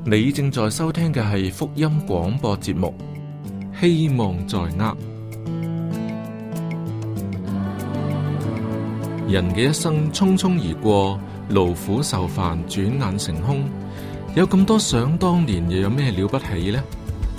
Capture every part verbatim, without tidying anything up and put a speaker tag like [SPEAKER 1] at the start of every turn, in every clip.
[SPEAKER 1] 你正在收聽嘅係福音廣播節目，希望在握。人嘅一生匆匆而過，勞苦受煩，轉眼成空。有咁多想當年，又有咩了不起呢？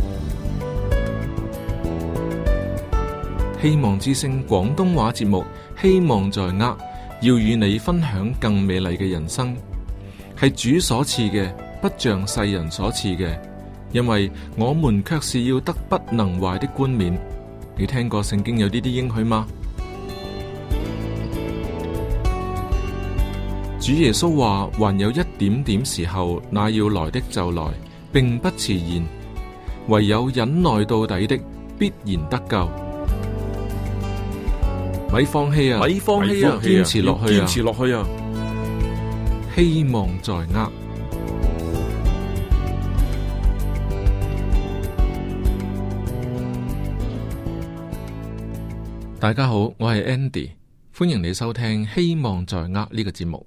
[SPEAKER 1] 希望之聲廣東話節目，希望在握，要與你分享更美麗嘅人生，係主所賜嘅，不像世人所賜嘅。因為我們卻是要得不能壞的冠冕。你聽過聖經有呢啲應許嗎？主耶穌話，還有一點點時候，那要來的就來，並不遲延。唯有忍耐到底的，必然得救。咪放棄啊！
[SPEAKER 2] 咪放棄啊！
[SPEAKER 1] 堅持落去啊！
[SPEAKER 2] 堅持落去啊！
[SPEAKER 1] 希望在握。大家好，我係 Andy，歡迎你收聽《希望在握》呢個節目。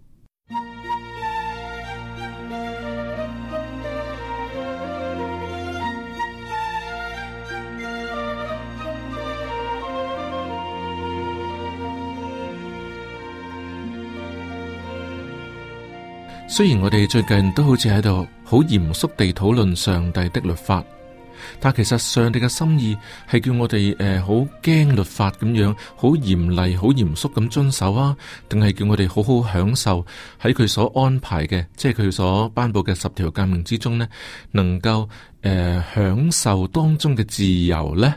[SPEAKER 1] 雖然我哋最近都好似喺度好嚴肅地討論上帝的律法，但其實上帝嘅心意係叫我哋誒好驚律法咁樣，好嚴厲、好嚴肅咁遵守啊，定係叫我哋好好享受喺佢所安排嘅，即係佢所頒布嘅十條誡命之中呢，能夠誒、呃、享受當中嘅自由呢？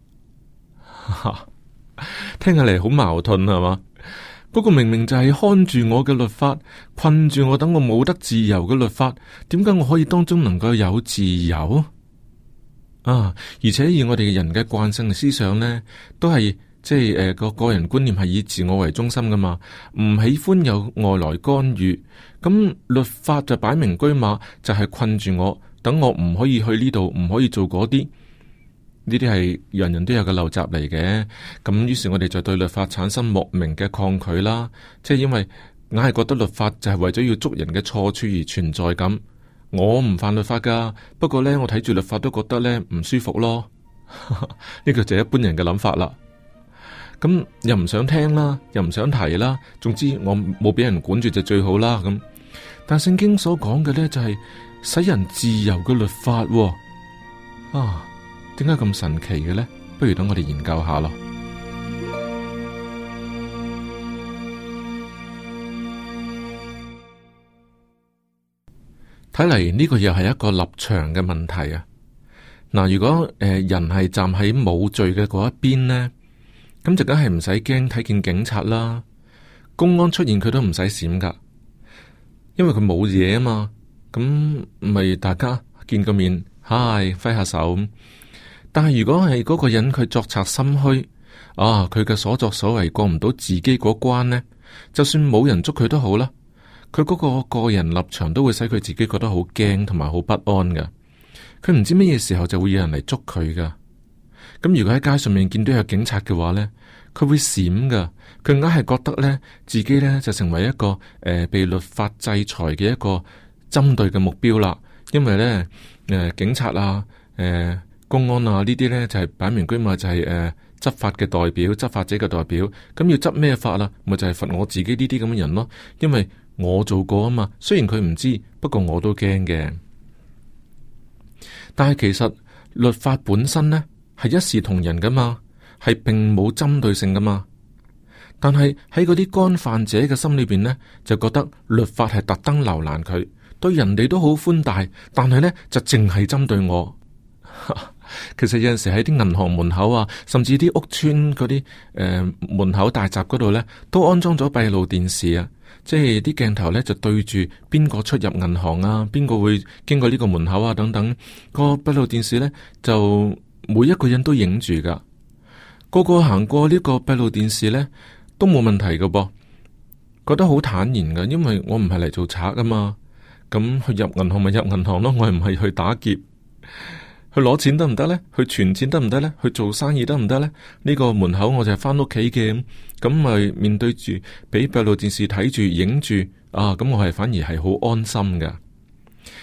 [SPEAKER 1] 聽起嚟好矛盾係嘛？嗰個明明就係看住我嘅律法，困住我，等我冇得自由嘅律法，點解我可以當中能夠有自由啊？而且以我哋嘅人嘅慣性嘅思想呢，都係即係誒個個人觀念係以自我為中心噶嘛，唔喜歡有外來干預。咁律法就擺明車馬，就係困住我，等我唔可以去呢度，唔可以做嗰啲。呢啲係人人都有嘅陋習嚟嘅，咁於是我哋就對律法產生莫名嘅抗拒啦，即係因為硬係覺得律法就係為咗要捉人嘅錯處而存在咁。我唔犯律法噶，不過呢，我睇住律法都覺得呢唔舒服咯。呢個就係一般人嘅諗法啦。咁又唔想聽啦，又唔想提啦，總之我冇俾人管住就最好啦。咁但聖經所講嘅呢，就係使人自由嘅律法喎。啊！點解咁神奇嘅呢？不如等我哋研究下咯。睇嚟呢個又係一個立場嘅問題啊！嗱，如果誒、呃、人係站喺冇罪嘅嗰一邊呢，咁就梗係唔使驚睇見警察啦，公安出現佢都唔使閃噶，因為佢冇嘢啊嘛。咁咪大家見個面，嗨，揮下手。但係如果係嗰個人佢作賊心虛啊，佢嘅所作所為過唔到自己嗰關呢，就算冇人捉佢都好啦，佢嗰個個人立場都會使佢自己覺得好驚同埋好不安噶。佢唔知乜嘢時候就會有人嚟捉佢噶。咁如果喺街上面見到有警察嘅話呢，佢會閃噶。佢硬係覺得呢，自己呢就成為一個誒、呃、被律法制裁嘅一個針對嘅目標啦。因為呢，誒、呃、警察啊，誒、呃。公安啊，呢啲呢就係擺明居嘛，就係、是、誒、呃、執法嘅代表，執法者嘅代表。咁要執咩法啦？咪就係、是、罰我自己呢啲咁嘅人咯。因為我做過啊嘛，雖然佢唔知，不過我都驚嘅。但係其實律法本身呢係一視同仁噶嘛，係並冇針對性噶嘛。但係喺嗰啲干犯者嘅心裏邊呢，就覺得律法係特登留難佢，對人哋都好寬大，但係呢就淨係針對我。其實有陣時喺啲銀行門口啊，甚至啲屋村嗰啲誒門口大閘嗰度呢，都安裝咗閉路電視啊。即係啲鏡頭呢，就對住邊個出入銀行啊，邊個會經過呢個門口啊等等。個閉路電視呢，就每一個人都影住噶，個個行過呢個閉路電視呢，都冇問題噶噃，覺得好坦然噶，因為我唔係嚟做賊噶嘛。咁去入銀行咪入銀行咯，我係唔係去打劫。去攞錢得唔得呢？去存錢得唔得呢？去做生意得唔得呢？呢個門口我就係翻屋企嘅，咁咪面對住俾閉路電視睇住影住啊！咁我係反而係好安心噶。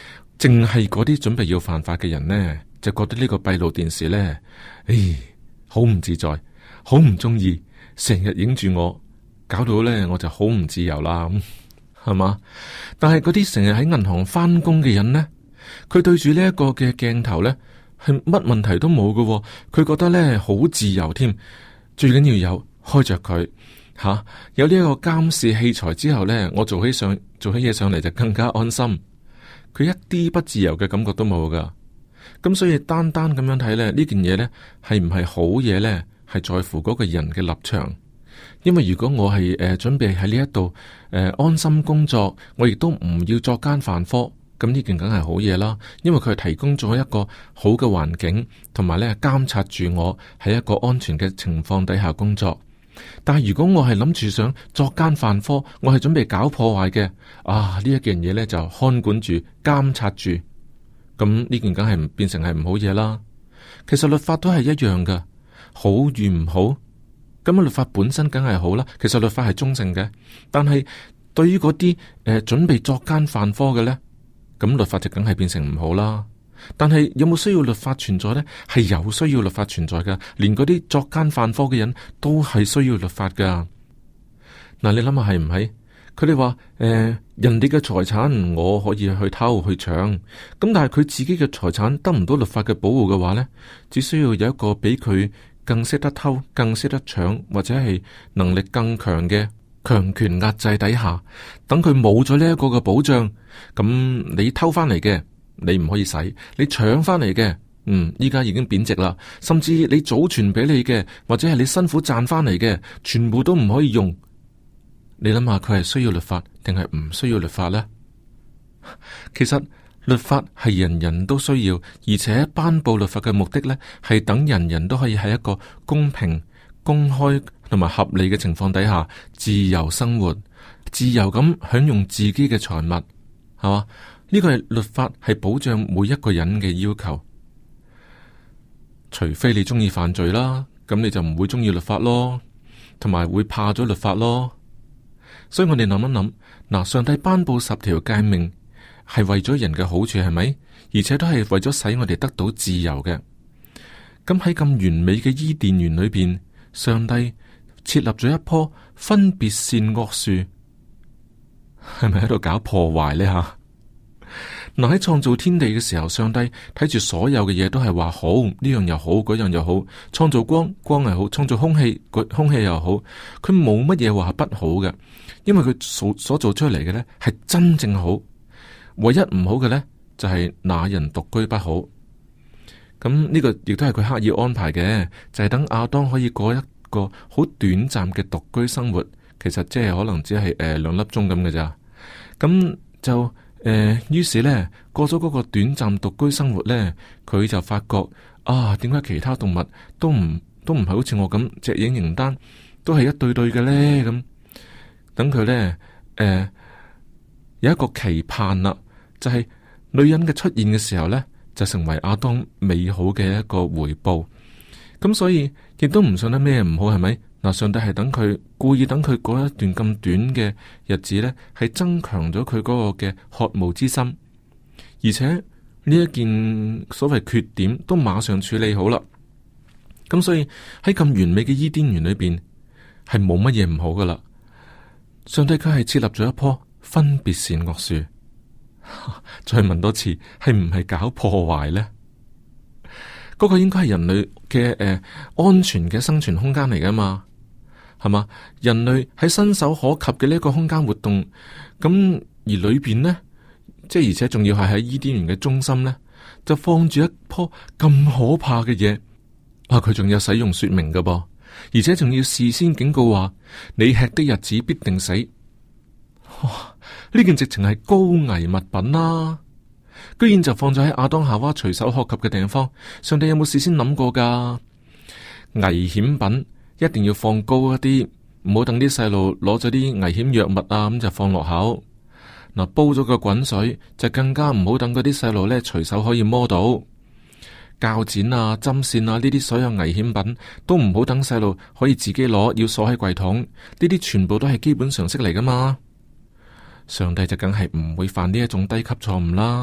[SPEAKER 1] 淨係嗰啲準備要犯法嘅人呢，就覺得呢個閉路電視呢，唉，好唔自在，好唔中意，成日影住我，搞到呢我就好唔自由啦，係嘛？但係嗰啲成日喺銀行翻工嘅人呢，佢對住呢一個嘅鏡頭呢，係乜問題都冇㗎喎，佢覺得呢好自由添，最緊要有開着佢吓，有呢一個監視器材之後呢，我做起上做起嘢上嚟就更加安心。佢一啲不自由嘅感覺都冇噶，咁所以單單咁樣睇咧，呢件嘢呢係唔係好嘢呢？係在乎嗰個人嘅立場。因為如果我係誒、呃、準備喺呢一度誒安心工作，我亦都唔要作奸犯科，咁呢件梗係好嘢啦。因為佢係提供咗一個好嘅環境，同埋咧監察住我喺一個安全嘅情況底下工作。但係如果我係諗住想作奸犯科，我係準備搞破壞嘅，啊呢一件嘢呢就看管住、監察住，咁呢件梗係唔變成係唔好嘢啦。其實律法都係一樣噶，好與唔好，咁啊律法本身梗係好啦。其實律法係中性嘅，但係對於嗰啲誒準備作奸犯科嘅呢，咁律法就梗係變成唔好啦。但係有冇需要律法存在呢？係有需要律法存在噶，連嗰啲作奸犯科嘅人都係需要律法噶。嗱，你諗下係唔係？佢哋話誒，人哋嘅財產我可以去偷去搶，咁但係佢自己嘅財產得唔到律法嘅保護嘅話呢，只需要有一個比佢更識得偷、更識得搶，或者係能力更強嘅強權壓制底下，等佢冇咗呢一個嘅保障，咁你偷翻嚟嘅，你唔可以使，你搶翻嚟嘅，嗯，依家已經貶值啦。甚至你祖傳俾你嘅，或者係你辛苦賺翻嚟嘅，全部都唔可以用。你諗下，佢係需要律法定係唔需要律法呢？其實律法係人人都需要，而且頒布律法嘅目的呢，係等人人都可以喺一個公平、公開同埋合理嘅情況底下，自由生活，自由咁享用自己嘅財物，係嘛？呢個係律法，係保障每一個人嘅要求。除非你中意犯罪啦，咁你就唔會中意律法咯，同埋會怕咗律法咯。所以我哋諗一諗，嗱，上帝頒布十條誡命係為咗人嘅好處，係咪？而且都係為咗使我哋得到自由嘅。咁喺咁完美嘅伊甸園裏邊，上帝設立咗一棵分別善惡樹，係咪喺度搞破壞呢？吓？嗱，喺創造天地嘅時候，上帝睇住所有嘅嘢都係話好，呢樣又好，嗰樣又好。創造光，光係好；創造空氣，空氣又好。佢冇乜嘢話係不好嘅，因為佢所所做出嚟嘅呢係真正好。唯一唔好嘅呢，就係、是、那人獨居不好。咁呢個亦都係佢刻意安排嘅，就係、是、等亞當可以過一個好短暫嘅獨居生活。其實即係可能只係誒兩粒鐘咁嘅咋。咁就。誒，於、呃、是呢，過咗嗰個短暫獨居生活呢，佢就發覺啊，點解其他動物都唔都唔係好似我咁隻影形單，都係一對對嘅呢？咁等佢呢，誒、呃，有一個期盼啦，就係、是、女人嘅出現嘅時候呢，就成為亞當美好嘅一個回報。咁所以亦都唔信得咩唔好，係咪？嗱，上帝係等佢故意等佢嗰一段咁短嘅日子呢，係增強咗佢嗰個嘅渴慕之心，而且呢一件所謂缺點都馬上處理好啦。咁所以喺咁完美嘅伊甸園裏邊，係冇乜嘢唔好噶啦。上帝佢係設立咗一棵分別善惡樹，再問多次，係唔係搞破壞呢？嗰個應該係人類嘅誒、呃、安全嘅生存空間嚟噶嘛？係嘛？人類喺伸手可及嘅呢一個空間活動，咁而裏邊呢，即係而且仲要係喺伊甸園嘅中心呢，就放住一棵咁可怕嘅嘢。啊，佢仲有使用說明噶噃，而且仲要事先警告話，你吃的日子必定死。哇！呢件直情係高危物品啦、啊，居然就放咗喺亞當夏娃隨手可及嘅地方。上帝有冇事先諗過噶？危險品一定要放高一啲，唔好等啲細路攞咗啲危險藥物啊，咁就放落口。嗱，煲咗個滾水就更加唔好等嗰啲細路咧隨手可以摸到。鉸剪啊、針線啊呢啲所有危險品都唔好等細路可以自己攞，要鎖喺櫃桶。呢啲全部都係基本常識嚟噶嘛。上帝就梗係唔會犯呢一種低級錯誤啦。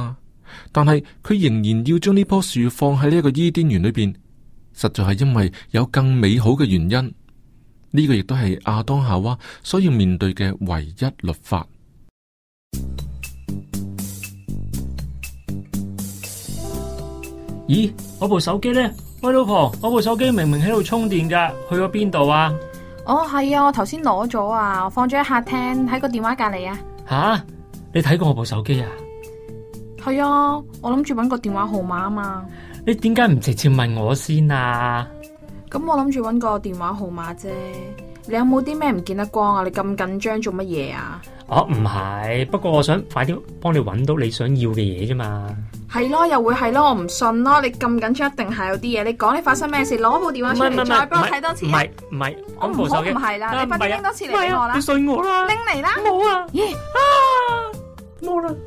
[SPEAKER 1] 但係佢仍然要將呢棵樹放喺呢一個伊甸園裏邊，實在係因為有更美好嘅原因。呢、這個亦都係亞當夏娃所要面對嘅唯一律法。
[SPEAKER 2] 咦，我部手機呢？喂，老婆，我部手機明明喺度充電噶，去咗邊度啊？
[SPEAKER 3] 哦，係啊，我頭先攞咗啊，我放咗喺客廳喺個電話隔籬啊。
[SPEAKER 2] 吓，你睇過我部手機啊？
[SPEAKER 3] 係啊，我諗住搵個電話號碼啊嘛。
[SPEAKER 2] 你點解唔直接問我先啊？
[SPEAKER 3] 咁我諗住搵個電話號碼啫。你有冇啲咩唔見得光啊？你咁緊張做乜嘢啊？
[SPEAKER 2] 哦，唔係，不過我想快啲幫你搵到你想要嘅嘢啫嘛。
[SPEAKER 3] 係咯，又會係咯，我唔信咯。你咁緊張，一定係有啲嘢。你講你發生咩事？攞部電話出嚟，再幫我睇多次。唔係唔係， 我唔好唔係啦，你快啲拎多次嚟俾我啦。
[SPEAKER 2] 你信我啦，
[SPEAKER 3] 拎嚟啦。
[SPEAKER 2] 冇啊，
[SPEAKER 3] 咦
[SPEAKER 2] 啊，冇啦。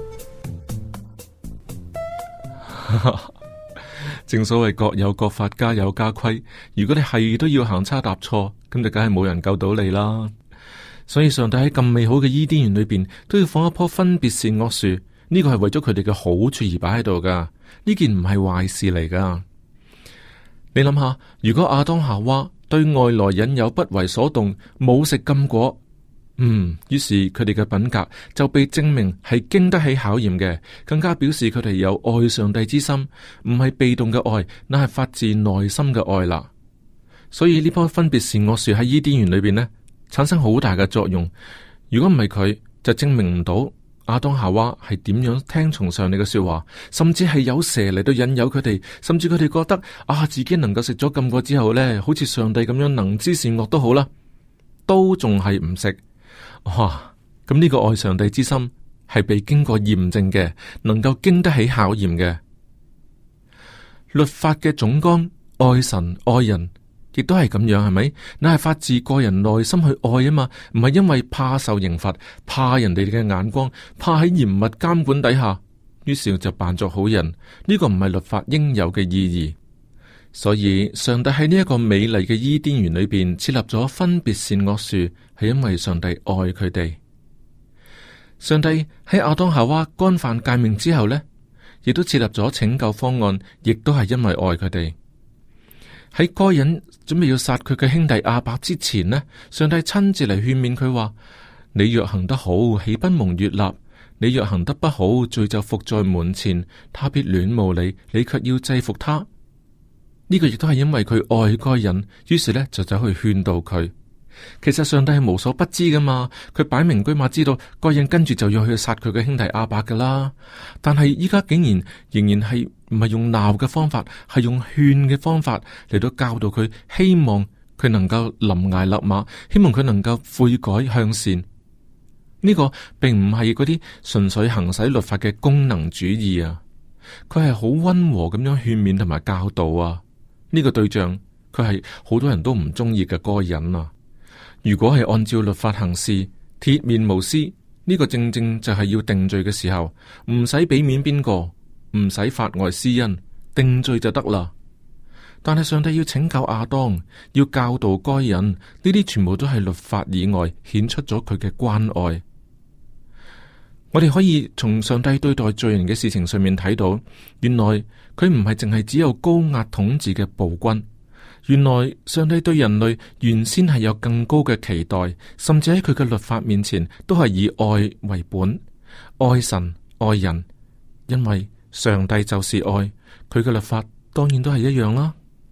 [SPEAKER 1] 正所謂各有各法，家有家規。如果你係都要行差踏錯，咁就梗係冇人救到你啦。所以上帝喺咁美好嘅伊甸園裏邊，都要放一棵分別善惡樹。呢個係為咗佢哋嘅好處而擺喺度噶，呢件唔係壞事嚟噶。你諗下，如果亞當夏娃對外來引誘不為所動，冇食禁果，嗯，於是佢哋嘅品格就被證明係經得起考驗嘅，更加表示佢哋有愛上帝之心，唔係被動嘅愛，那係發自內心嘅愛啦。所以呢棵分別善惡樹喺伊甸園裏邊呢，產生好大嘅作用。如果唔係佢，就證明唔到亞當夏娃係點樣聽從上帝嘅說話，甚至係有蛇嚟到引誘佢哋，甚至佢哋覺得啊，自己能夠食咗禁果之後呢，好似上帝咁樣能知善惡都好啦，都仲係唔食。哇！咁呢個愛上帝之心係被經過驗證嘅，能夠經得起考驗嘅。律法嘅總綱，愛神愛人，亦都係咁樣，係咪？那係發自個人內心去愛啊嘛，唔係因為怕受刑罰，怕人哋嘅眼光，怕喺嚴密監管底下，於是就扮作好人。呢個唔係律法應有嘅意義。所以上帝喺呢一個美麗嘅伊甸園裏邊設立咗分別善惡樹，係因為上帝愛佢哋。上帝喺亞當夏娃干犯誡命之後呢，亦都設立咗拯救方案，亦都係因為愛佢哋。喺該隱準備要殺佢嘅兄弟亞伯之前呢，上帝親自嚟勸勉佢話：你若行得好，豈不蒙悅納？你若行得不好，罪就伏在門前，他必戀慕你，你卻要制服他。呢個亦都係因為佢愛該隱，於是呢就走去勸導佢。其實上帝係無所不知噶嘛，佢擺明居馬知道該隱跟住就要去殺佢嘅兄弟亞伯噶啦。但係依家竟然仍然係唔係用鬧嘅方法，係用勸嘅方法嚟到教導佢，希望佢能夠臨崖勒馬，希望佢能夠悔改向善。呢個並唔係嗰啲純粹行使律法嘅功能主義啊，佢係好溫和咁樣勸勉同埋教導啊。呢個對象佢係好多人都唔中意嘅該隱啊。如果係按照律法行事，鐵面無私，呢個正正就係要定罪嘅時候，唔使俾面邊個，唔使法外施恩，定罪就得啦。但係上帝要拯救亞當，要教導該隱，呢啲全部都係律法以外顯出咗佢嘅關愛。我哋可以從上帝對待罪人嘅事情上面睇到，原來佢唔係淨係只有高壓統治嘅暴君，原來上帝對人類原先係有更高嘅期待，甚至喺佢嘅律法面前都係以愛為本，愛神愛人，因為上帝就是愛，佢嘅律法當然都係一樣啦。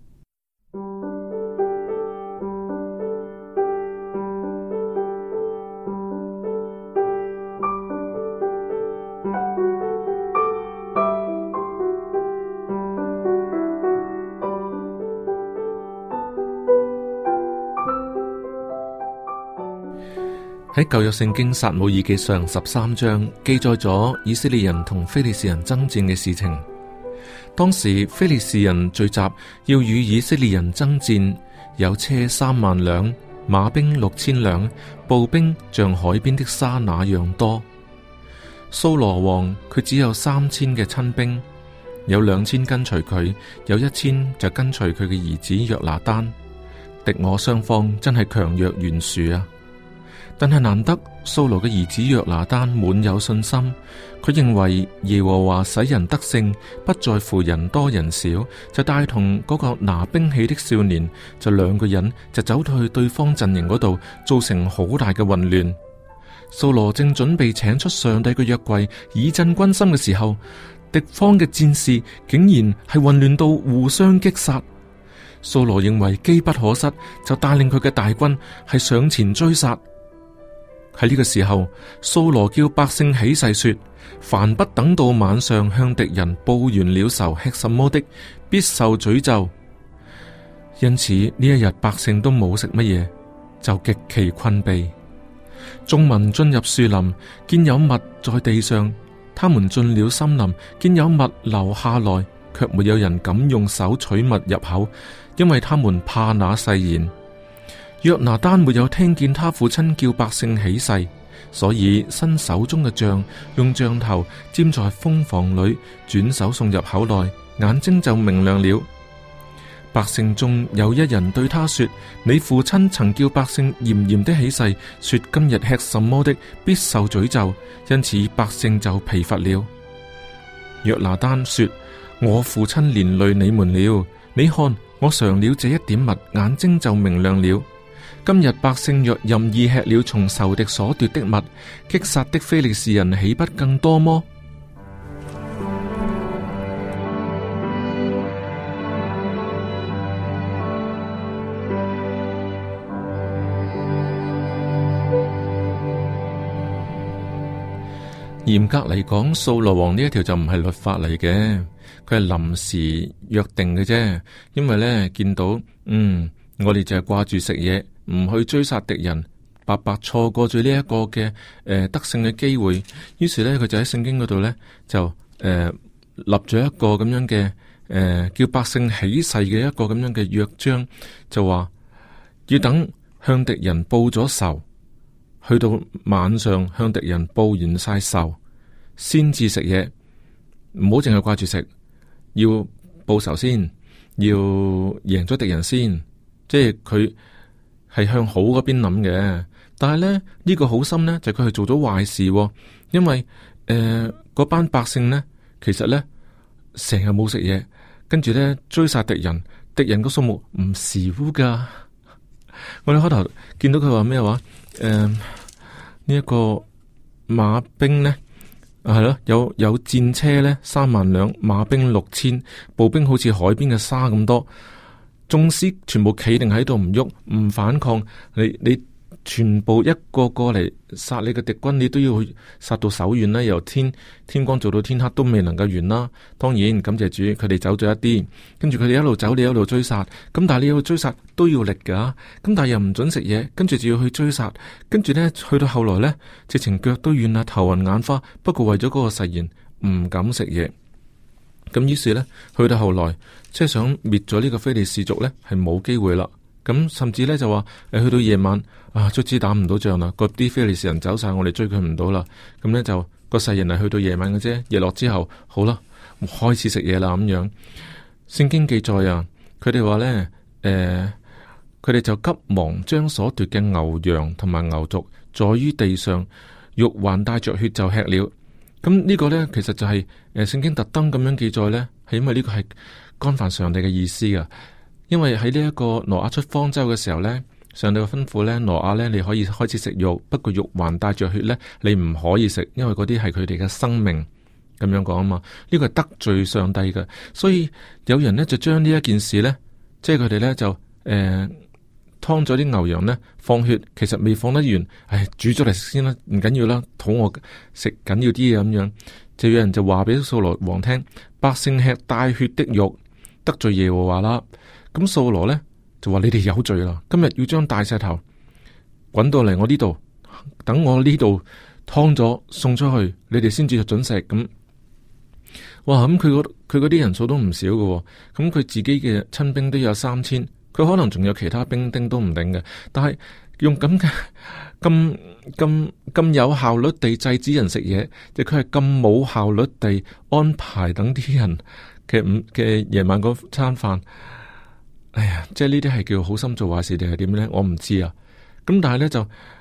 [SPEAKER 1] 喺舊約聖經撒母耳記上十三章記載咗以色列人同非利士人爭戰嘅事情。當時非利士人聚集要與以色列人爭戰，有車三萬輛，馬兵六千輛，步兵像海邊的沙那樣多。掃羅王佢只有三千嘅親兵，有兩千跟隨佢，有一千就跟隨佢嘅兒子約拿單。敵我雙方真係強弱懸殊啊！ 但係難得掃羅嘅兒子約拿單滿有信心，佢認為耶和華使人得勝，不在乎人多人少，就帶同嗰個拿兵器的少年，就兩個人就走到去對方陣營嗰度，造成好大嘅混亂。掃羅正準備請出上帝嘅約櫃以振軍心嘅時候，敵方嘅戰士竟然係混亂到互相擊殺。掃羅認為機不可失，就帶領佢嘅大軍係上前追殺。喺呢個時候，掃羅叫百姓起誓說：凡不等到晚上向敵人報完了仇，吃什麼的，必受詛咒。因此呢一日百姓都冇食乜嘢，就極其困憊。眾民進入樹林，見有物在地上；他們進了森林，見有物流下來，卻沒有人敢用手取物入口，因為他們怕那誓言。約拿單沒有聽見他父親叫百姓起誓，所以伸手中嘅杖，用杖頭沾在蜂房裏，轉手送入口內，眼睛就明亮了。百姓中有一人對他說：你父親曾叫百姓嚴嚴的起誓，說今日吃什麼的必受詛咒，因此百姓就疲乏了。約拿單說：我父親連累你們了，你看我嘗了這一點物，眼睛就明亮了。今日百姓若任意吃了從仇敵所奪的物，擊殺的非利士人豈不更多麼？嚴格嚟講，掃羅王呢一條就唔係律法嚟嘅，佢係臨時約定嘅啫。因為呢，見到嗯，我哋就係掛住食嘢，唔去追殺敵人，白白錯過咗呢一個嘅誒、呃、得勝嘅機會。於是呢，佢就喺聖經嗰度呢，就誒、呃、立咗一個咁樣嘅誒、呃、叫百姓起誓嘅一個咁樣嘅約章，就話要等向敵人報咗仇，去到晚上向敵人報完晒仇，先至食嘢，唔好淨係掛住食，要報仇先，要贏咗敵人先，即係佢係向好嗰邊諗嘅。但係咧呢、呢個好心呢，就佢、係、係做咗壞事、哦，因為誒嗰、呃、班百姓呢，其實呢，成日冇食嘢，跟住呢，追殺敵人，敵人個數目唔少噶。我哋開頭見到佢話咩話？誒，呢一個馬兵呢，係咯，有有戰車呢，三萬輛，馬兵六千，步兵好似海邊嘅沙咁多，眾師全部企定喺度唔喐，唔反抗，你你全部一個過嚟殺你嘅敵軍，你都要去殺到手軟啦，由天天光做到天黑都未能夠完啦。當然感謝主，佢哋走咗一啲，跟住佢哋一路走，你一路追殺。咁但係你要追殺都要力噶，咁但係又唔准食嘢，跟住就要去追殺。跟住呢，去到後來呢，直情腳都軟啦，頭暈眼花。不過為咗嗰個誓言，唔敢食嘢。咁於是呢，去到後來，即係想滅咗呢個非利士族呢，係冇機會啦。咁甚至咧就話，誒去到夜晚啊，卒之打唔到仗啦，嗰啲非利士人走晒，我哋追佢唔到啦。咁咧就個誓言係去到夜晚嘅啫，夜落之後好啦，開始食嘢啦咁樣。聖經記載啊，佢哋話咧，誒、呃，佢哋就急忙將所奪嘅牛羊同埋牛犢在於地上，肉還帶着血就吃了。咁呢個咧其實就係誒聖經特登咁樣記載咧，係因為呢個係干犯上帝嘅意思噶。因為喺呢一個挪亞出方舟嘅時候呢，上帝嘅吩咐呢，挪亞呢，你可以開始食肉，不過肉還帶着血呢，你唔可以食，因為嗰啲係佢哋嘅生命，咁樣講啊嘛。呢個係得罪上帝嘅，所以有人呢，就將呢一件事呢，即係佢哋呢，就誒劏咗啲牛羊呢，放血，其實未放得完，唉煮咗嚟食先啦，唔緊要啦，肚餓食緊要啲嘢咁樣，就有人就話俾掃羅王聽，百姓吃帶血的肉，得罪耶和華啦。咁掃羅呢就話：你哋有罪啦！今日要將大石頭滾到嚟我呢度，等我呢度劏咗送出去，你哋先至准食。咁哇！咁佢嗰佢嗰啲人數都唔少嘅，咁佢自己嘅親兵都有三千，佢可能仲有其他兵丁都唔定嘅。但係用咁嘅咁咁咁有效率地制止人食嘢，即佢係咁冇效率地安排等啲人嘅午嘅夜晚嗰餐飯。哎呀，即係呢啲係叫好心做壞事定係點呢？我唔知啊。咁但係呢，就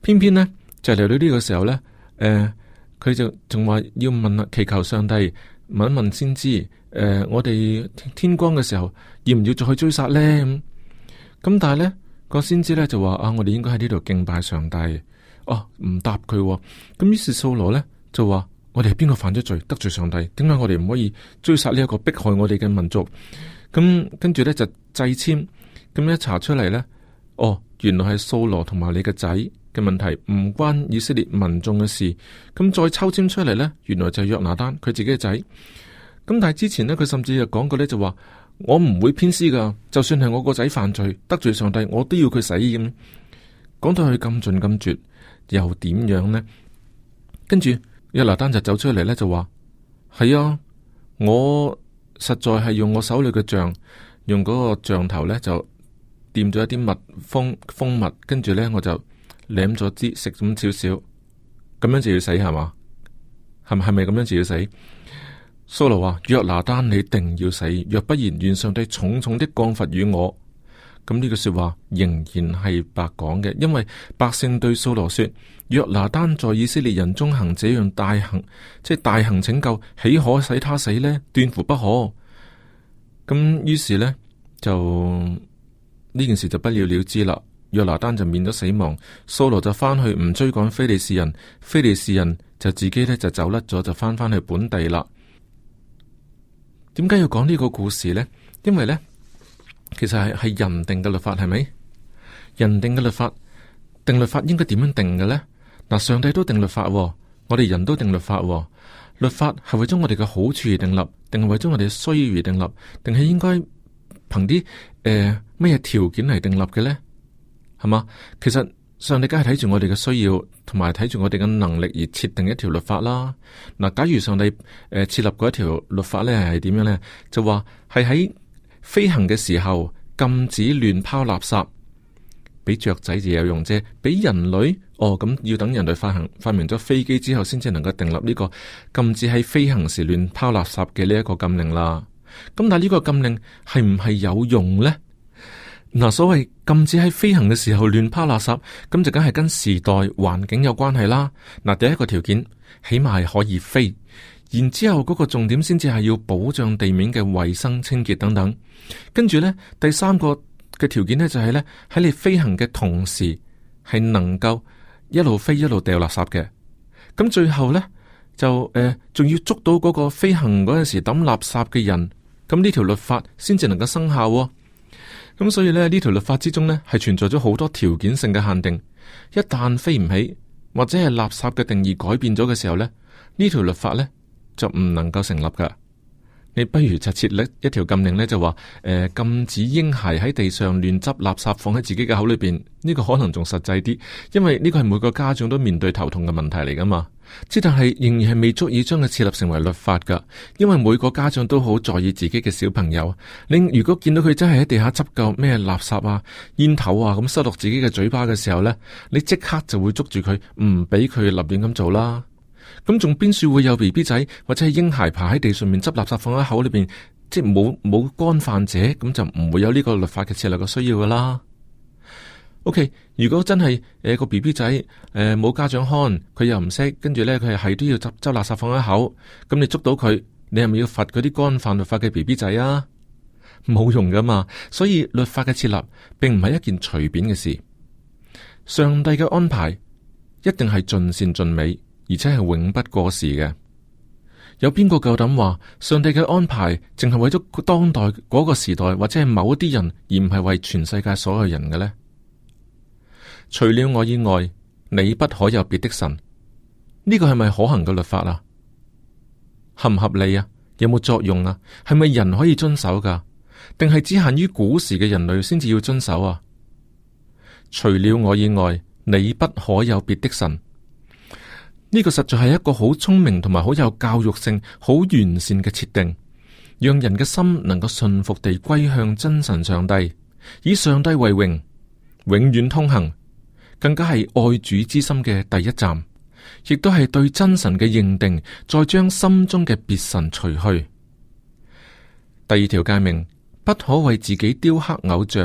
[SPEAKER 1] 偏偏呢，就嚟到呢個時候呢，誒、呃，佢就仲話要問祈求上帝問一問先知，誒、呃，我哋天光嘅時候要唔要再去追殺呢？咁咁但係呢個先知呢，就話啊，我哋應該喺呢度敬拜上帝。哦，唔答佢。咁於是掃羅呢，就話：我哋係邊個犯咗罪得罪上帝？點解我哋唔可以追殺呢一個迫害我哋嘅民族？咁跟住呢，就掣籤，咁一查出嚟呢，哦，原來係掃羅同埋你嘅仔嘅問題，唔關以色列民眾嘅事。咁再抽籤出嚟呢，原來就係約拿單佢自己嘅仔。咁但係之前呢，佢甚至就講過呢，就話我唔會偏私噶，就算係我個仔犯罪得罪上帝，我都要佢死。咁講到佢咁盡咁絕，又點樣呢？跟住約拿單就走出嚟呢，就話係啊，我實在係用我手裏嘅杖，用嗰個杖頭呢，就掂咗一啲蜜蜂蜂蜜，跟住呢，我就舐咗啲食咁少少，咁樣就要死係嘛？係咪係咪咁樣就要死？掃羅話：約拿單，你定要死，若不然，願上帝重重的降罰與我。咁呢句說話仍然係白講嘅，因為百姓對掃羅說：約拿單在以色列人中行這樣大行，即係大行拯救，豈可使他死呢？斷乎不可。咁於是呢，就呢件事就不了了之啦。約拿單就免咗死亡，掃羅就翻去唔追趕非利士人，非利士人就自己呢就走甩咗，就翻翻去本地啦。點解要講呢個故事呢？因為呢，其實係係人定嘅律法，係咪？人定嘅律法，定律法應該點樣定嘅呢？嗱，上帝都定律法，我哋人都定律法。律法係為咗我哋嘅好處而定立，定係為咗我哋嘅需要而定立，定係應該憑啲誒咩條件嚟定立嘅呢？係嘛？其實上帝梗係睇住我哋嘅需要，同埋睇住我哋嘅能力而設定一條律法啦。嗱，假如上帝誒設立過一條律法咧，係點樣咧？就話係喺飛行嘅時候禁止亂拋垃圾，俾雀仔就有用啫。俾人類哦，咁要等人類發行發明咗飛機之後，先至能夠訂立呢個禁止喺飛行時亂拋垃圾嘅呢一個禁令啦。咁但係呢個禁令係唔係有用咧？嗱，所謂禁止喺飛行嘅時候亂拋垃圾，咁就梗係跟時代環境有關係啦。嗱，第一個條件起碼係可以飛，然之後嗰個重點先至係要保障地面嘅衛生清潔等等。跟住呢，第三個嘅條件呢，就係呢：喺你飛行嘅同時係能夠一路飛一路掉垃圾嘅。咁最後呢，就誒仲、呃、要捉到嗰個飛行嗰陣時抌垃圾嘅人，咁呢條律法先至能夠生效喎。咁所以呢，呢條律法之中呢，係存在咗好多條件性嘅限定。一旦飛唔起，或者係垃圾嘅定義改變咗嘅時候呢，呢條律法呢，就唔能夠成立噶。你不如就設立一條禁令呢，就話誒、呃、禁止嬰孩喺地上亂執垃圾放喺自己嘅口裏邊。呢、呢個可能仲實際啲，因為呢個係每個家長都面對頭痛嘅問題嚟噶嘛。即但係仍然係未足以將佢設立成為律法噶，因為每個家長都好在意自己嘅小朋友。你如果見到佢真係喺地下執夠咩垃圾啊、煙頭啊咁塞落自己嘅嘴巴嘅時候呢，你即刻就會捉住佢，唔俾佢立亂咁做啦。咁仲邊處會有 B B 仔或者係嬰孩爬喺地上面執垃圾放喺口裏邊，即係冇冇干犯者，咁就唔會有呢個律法嘅設立嘅需要噶啦。O.K. 如果真係誒、呃、個 B B 仔誒冇、呃、家長看，佢又唔識，跟住咧佢係都要執執垃圾放喺口，咁你捉到佢，你係咪要罰嗰啲干犯律法嘅 B B 仔啊？冇用噶嘛。所以律法嘅設立並唔係一件隨便嘅事。上帝嘅安排一定係盡善盡美，而且係永不過時嘅。有邊個夠膽話上帝嘅安排淨係為咗當代嗰個時代或者係某一啲人，而唔係為全世界所有人嘅呢？除了我以外，你不可有別的神。呢個係咪可行嘅律法啊？合唔合理啊？有冇作用啊？係咪人可以遵守噶？定係只限於古時嘅人類先至要遵守啊？除了我以外，你不可有別的神。呢個實在係一個好聰明同埋好有教育性、好完善嘅設定，讓人嘅心能夠順服地歸向真神上帝，以上帝為榮，永遠通行。更加係愛主之心嘅第一站，亦都係對真神嘅認定，再將心中嘅別神除去。第二條誡命，不可為自己雕刻偶像，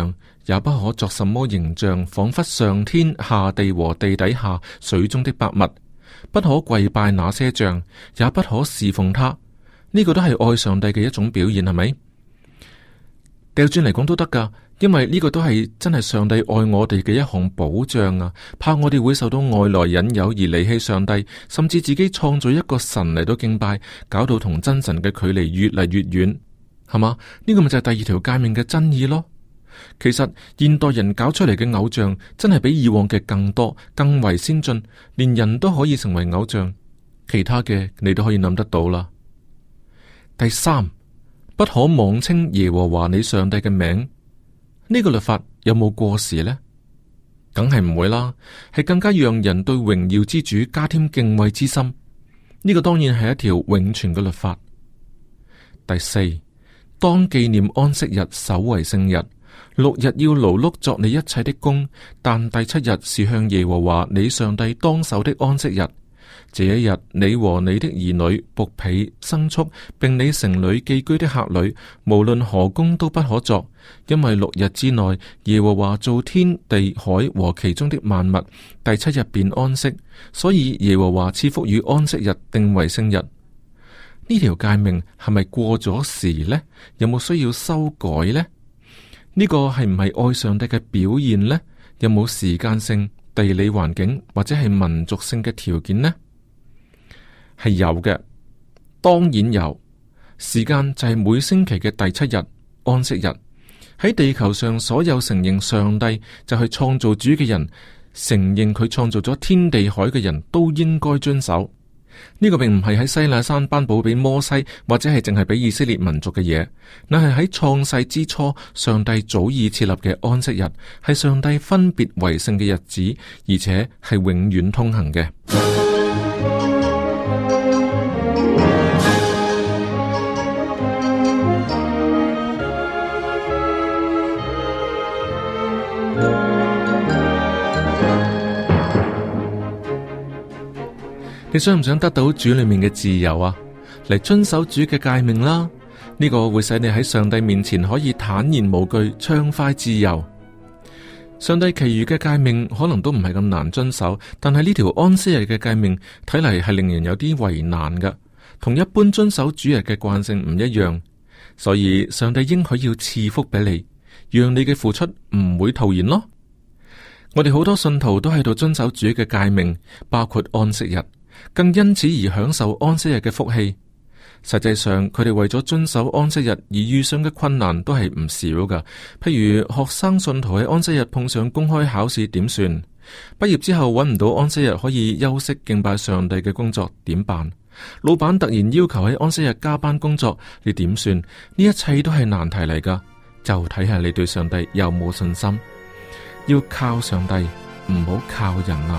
[SPEAKER 1] 也不可作什麼形象，仿佛上天下地和地底下水中的百物，不可跪拜那些像，也不可侍奉他。呢、這個都係愛上帝嘅一種表現，係咪？掉轉嚟講都得噶，因為呢個都係真係上帝愛我哋嘅一項保障啊！怕我哋會受到外來引誘而離棄上帝，甚至自己創造一個神嚟到敬拜，搞到同真神嘅距離越嚟越遠，係嘛？呢、這個咪就係第二條誡命嘅真意咯。其實現代人搞出嚟嘅偶像真係比以往嘅更多，更為先進，連人都可以成為偶像。其他嘅你都可以諗得到啦。第三，不可妄稱耶和華你上帝嘅名。呢個律法有冇過時呢？梗係唔會啦，係更加讓人對榮耀之主加添敬畏之心。呢個當然係一條永存嘅律法。第四，當紀念安息日，守為聖日。六日要勞碌作你一切的工，但第七日是向耶和華你上帝當守的安息日。這一日，你和你的兒女、僕婢、牲畜，並你城裏寄居的客旅，無論何工都不可作，因為六日之內，耶和華造天地海和其中的萬物，第七日便安息，所以耶和華賜福與安息日，定為聖日。呢條誡命係咪過咗時呢？有冇需要修改呢？呢個係唔係愛上帝嘅表現呢？有冇時間性、地理環境或者係民族性嘅條件呢？係有嘅，當然有。時間就係每星期嘅第七日，安息日。喺地球上所有承認上帝就係創造主嘅人，承認佢創造咗天地海嘅人都應該遵守。呢個並唔係喺西奈山頒布俾摩西，或者係淨係俾以色列民族嘅嘢，乃係喺創世之初，上帝早已設立嘅安息日，係上帝分別為聖嘅日子，而且係永遠通行嘅。你想唔想得到主裏面嘅自由啊？嚟遵守主嘅誡命啦，呢個會使你喺上帝面前可以坦然無懼，暢快自由。上帝其餘嘅誡命可能都唔係咁難遵守，但係呢條安息日嘅誡命睇嚟係令人有啲為難㗎，同一般遵守主日嘅慣性唔一樣，所以上帝應許要賜福俾你，讓你嘅付出唔會徒然咯。我哋好多信徒都喺度遵守主嘅誡命，包括安息日，更因此而享受安息日嘅福氣。實際上，佢哋為咗遵守安息日而遇上嘅困難都係唔少噶。譬如學生信徒喺安息日碰上公開考試點算？畢業之後揾唔到安息日可以休息敬拜上帝嘅工作點辦？老闆突然要求喺安息日加班工作，你點算？呢一切都係難題嚟噶。就睇下你對上帝有冇信心。要靠上帝，唔好靠人啊！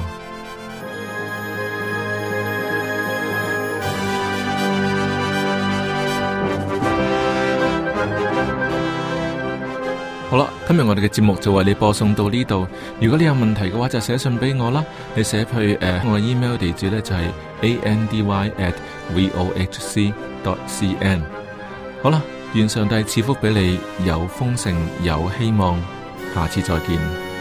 [SPEAKER 1] 好啦，今日我哋嘅節目就為你播送到呢度。如果你有問題嘅話，就寫信俾我啦。你寫去誒、呃，我嘅 email 地址呢就係 andy at vohc dot cn。好啦，願上帝賜福俾你，有豐盛，有希望。下次再見。